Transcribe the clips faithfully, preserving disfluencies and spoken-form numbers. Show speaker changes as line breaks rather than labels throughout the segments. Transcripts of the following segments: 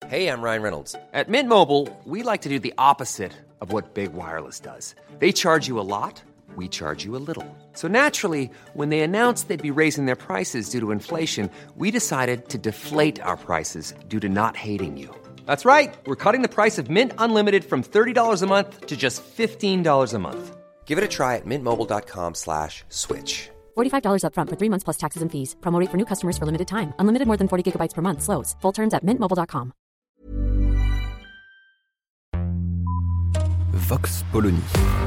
Hey, I'm Ryan Reynolds. At Mint Mobile, we like to do the opposite of what Big Wireless does. They charge you a lot, we charge you a little. So naturally, when they announced they'd be raising their prices due to inflation, we decided to deflate our prices due to not hating you. That's right. We're cutting the price of Mint Unlimited from thirty dollars a month to just fifteen dollars a month. Give it a try at mintmobile.com slash switch.
forty-five dollars up front for three months plus taxes and fees. Promo rate for new customers for limited time. Unlimited more than forty gigabytes per month. Slows full terms at mint mobile dot com.
Vox Polony.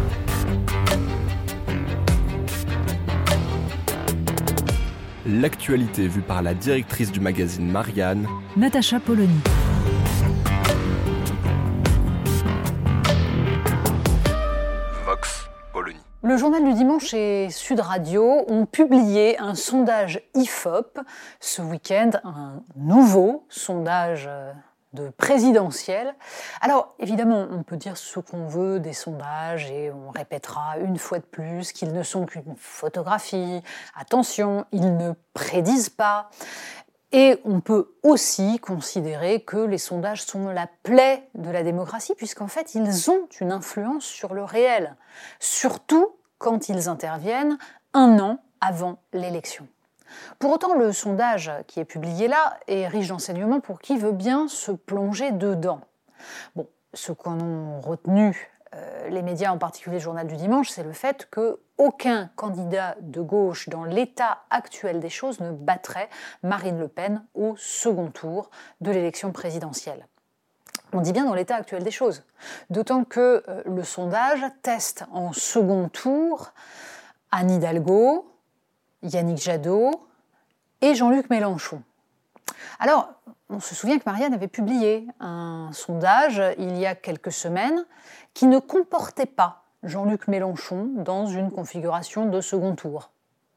L'actualité vue par la directrice du magazine Marianne,
Natacha Polony.
Vox Polony.
Le journal du dimanche et Sud Radio ont publié un sondage I F O P ce week-end, un nouveau sondage de présidentiel. Alors, évidemment, on peut dire ce qu'on veut des sondages et on répétera une fois de plus qu'ils ne sont qu'une photographie. Attention, ils ne prédisent pas. Et on peut aussi considérer que les sondages sont la plaie de la démocratie, puisqu'en fait, ils ont une influence sur le réel, surtout quand ils interviennent un an avant l'élection. Pour autant, le sondage qui est publié là est riche d'enseignements pour qui veut bien se plonger dedans. Bon, ce qu'en ont retenu euh, les médias, en particulier le Journal du Dimanche, c'est le fait qu'aucun candidat de gauche dans l'état actuel des choses ne battrait Marine Le Pen au second tour de l'élection présidentielle. On dit bien dans l'état actuel des choses, d'autant que euh, le sondage teste en second tour Anne Hidalgo, Yannick Jadot et Jean-Luc Mélenchon. Alors, on se souvient que Marianne avait publié un sondage il y a quelques semaines qui ne comportait pas Jean-Luc Mélenchon dans une configuration de second tour.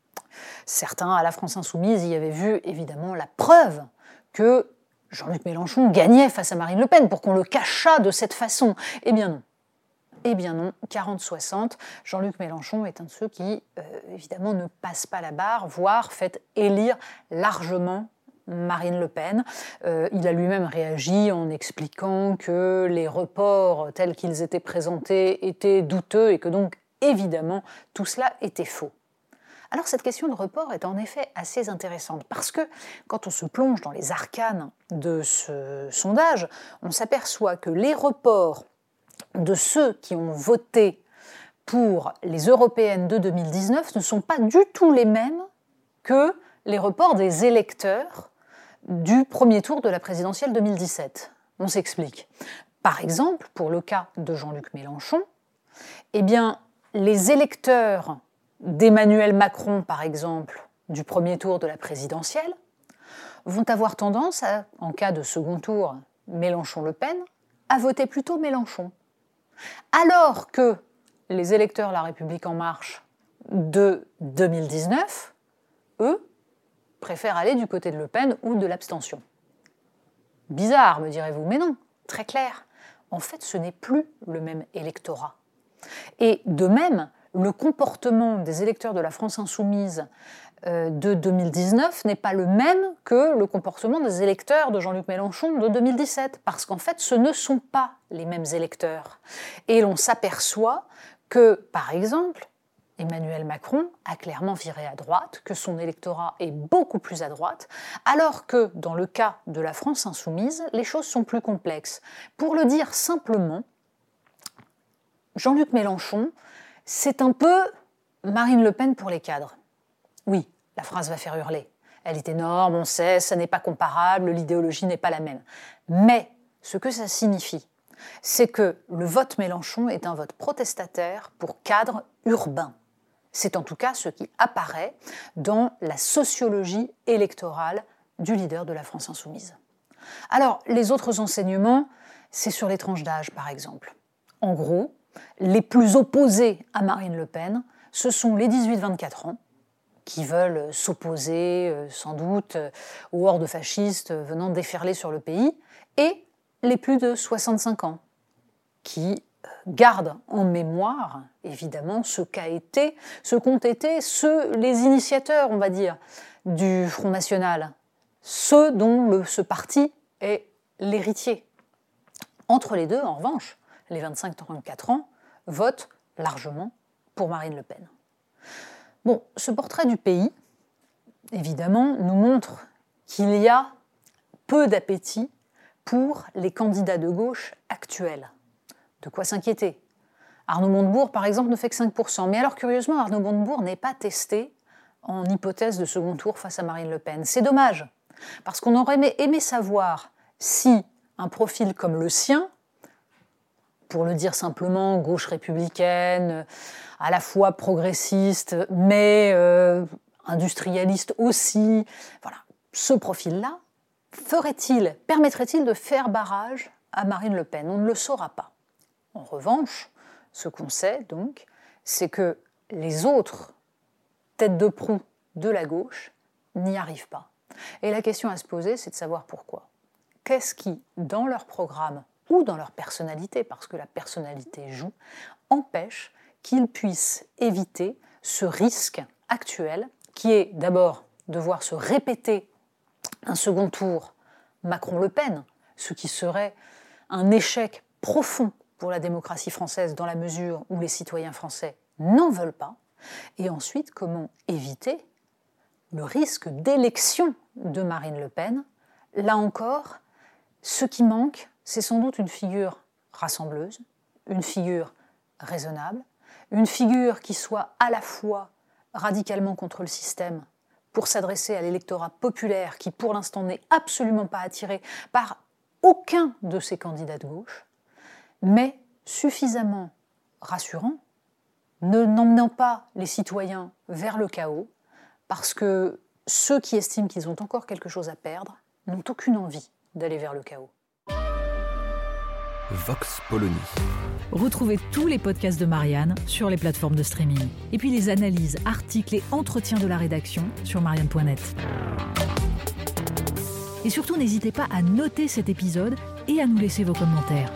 Certains, à la France Insoumise, y avaient vu évidemment la preuve que Jean-Luc Mélenchon gagnait face à Marine Le Pen pour qu'on le cachât de cette façon. Eh bien non. Eh bien non, quarante soixante, Jean-Luc Mélenchon est un de ceux qui, euh, évidemment, ne passe pas la barre, voire fait élire largement Marine Le Pen. Euh, il a lui-même réagi en expliquant que les reports tels qu'ils étaient présentés étaient douteux et que donc, évidemment, tout cela était faux. Alors cette question de report est en effet assez intéressante parce que quand on se plonge dans les arcanes de ce sondage, on s'aperçoit que les reports de ceux qui ont voté pour les européennes de deux mille dix-neuf ne sont pas du tout les mêmes que les reports des électeurs du premier tour de la présidentielle deux mille dix-sept. On s'explique. Par exemple, pour le cas de Jean-Luc Mélenchon, eh bien, les électeurs d'Emmanuel Macron, par exemple, du premier tour de la présidentielle, vont avoir tendance, à, en cas de second tour Mélenchon-Le Pen, à voter plutôt Mélenchon. Alors que les électeurs La République En Marche de deux mille dix-neuf, eux, préfèrent aller du côté de Le Pen ou de l'abstention. Bizarre, me direz-vous, mais non, très clair. En fait, ce n'est plus le même électorat. Et de même, le comportement des électeurs de la France Insoumise euh, de deux mille dix-neuf n'est pas le même que le comportement des électeurs de Jean-Luc Mélenchon de deux mille dix-sept, parce qu'en fait, ce ne sont pas les mêmes électeurs. Et l'on s'aperçoit que, par exemple, Emmanuel Macron a clairement viré à droite, que son électorat est beaucoup plus à droite, alors que, dans le cas de la France Insoumise, les choses sont plus complexes. Pour le dire simplement, Jean-Luc Mélenchon, c'est un peu Marine Le Pen pour les cadres. Oui, la phrase va faire hurler. Elle est énorme, on sait, ça n'est pas comparable, l'idéologie n'est pas la même. Mais ce que ça signifie, c'est que le vote Mélenchon est un vote protestataire pour cadres urbains. C'est en tout cas ce qui apparaît dans la sociologie électorale du leader de la France Insoumise. Alors, les autres enseignements, c'est sur les tranches d'âge, par exemple. En gros, les plus opposés à Marine Le Pen, ce sont les dix-huit vingt-quatre ans, qui veulent s'opposer, euh, sans doute, euh, aux hordes fascistes venant déferler sur le pays, et les plus de soixante-cinq ans, qui gardent en mémoire, évidemment, ce qu'a été, ce qu'ont été ceux, les initiateurs, on va dire, du Front National, ceux dont le, ce parti est l'héritier. Entre les deux, en revanche, les vingt-cinq à trente-quatre ans votent largement pour Marine Le Pen. Bon, ce portrait du pays, évidemment, nous montre qu'il y a peu d'appétit pour les candidats de gauche actuels. De quoi s'inquiéter. Arnaud Montebourg, par exemple, ne fait que cinq pour cent. Mais alors, curieusement, Arnaud Montebourg n'est pas testé en hypothèse de second tour face à Marine Le Pen. C'est dommage, parce qu'on aurait aimé, aimé savoir si un profil comme le sien, pour le dire simplement, gauche républicaine, à la fois progressiste, mais euh, industrialiste aussi, voilà, ce profil-là, ferait-il, permettrait-il de faire barrage à Marine Le Pen ? On ne le saura pas. En revanche, ce qu'on sait, donc, c'est que les autres têtes de proue de la gauche n'y arrivent pas. Et la question à se poser, c'est de savoir pourquoi. Qu'est-ce qui, dans leur programme ou dans leur personnalité, parce que la personnalité joue, empêche qu'ils puissent éviter ce risque actuel, qui est d'abord de voir se répéter un second tour Macron-Le Pen, ce qui serait un échec profond pour la démocratie française dans la mesure où les citoyens français n'en veulent pas, et ensuite comment éviter le risque d'élection de Marine Le Pen. Là encore, ce qui manque, c'est sans doute une figure rassembleuse, une figure raisonnable, une figure qui soit à la fois radicalement contre le système pour s'adresser à l'électorat populaire qui, pour l'instant, n'est absolument pas attiré par aucun de ces candidats de gauche, mais suffisamment rassurant, ne n'emmenant pas les citoyens vers le chaos, parce que ceux qui estiment qu'ils ont encore quelque chose à perdre n'ont aucune envie d'aller vers le chaos.
Vox Polony.
Retrouvez tous les podcasts de Marianne sur les plateformes de streaming. Et puis les analyses, articles et entretiens de la rédaction sur marianne point net. Et surtout, n'hésitez pas à noter cet épisode et à nous laisser vos commentaires.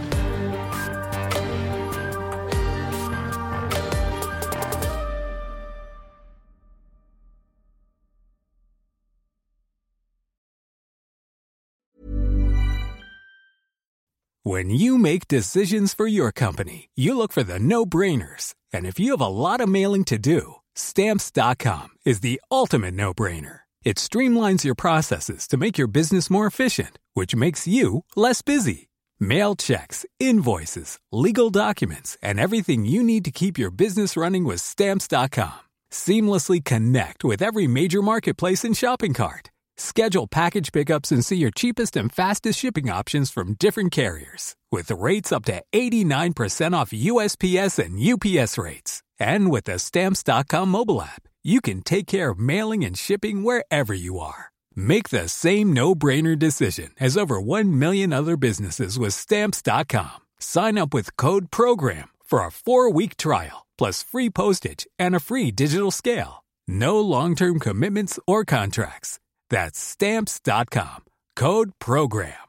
When you make decisions for your company, you look for the no-brainers. And if you have a lot of mailing to do, Stamps dot com is the ultimate no-brainer. It streamlines your processes to make your business more efficient, which makes you less busy. Mail checks, invoices, legal documents, and everything you need to keep your business running with Stamps dot com. Seamlessly connect with every major marketplace and shopping cart. Schedule package pickups and see your cheapest and fastest shipping options from different carriers. With rates up to eighty-nine percent off U S P S and U P S rates. And with the Stamps dot com mobile app, you can take care of mailing and shipping wherever you are. Make the same no-brainer decision as over one million other businesses with Stamps dot com. Sign up with code PROGRAM for a four-week trial, plus free postage and a free digital scale. No long-term commitments or contracts. That's Stamps dot com. Code PROGRAM.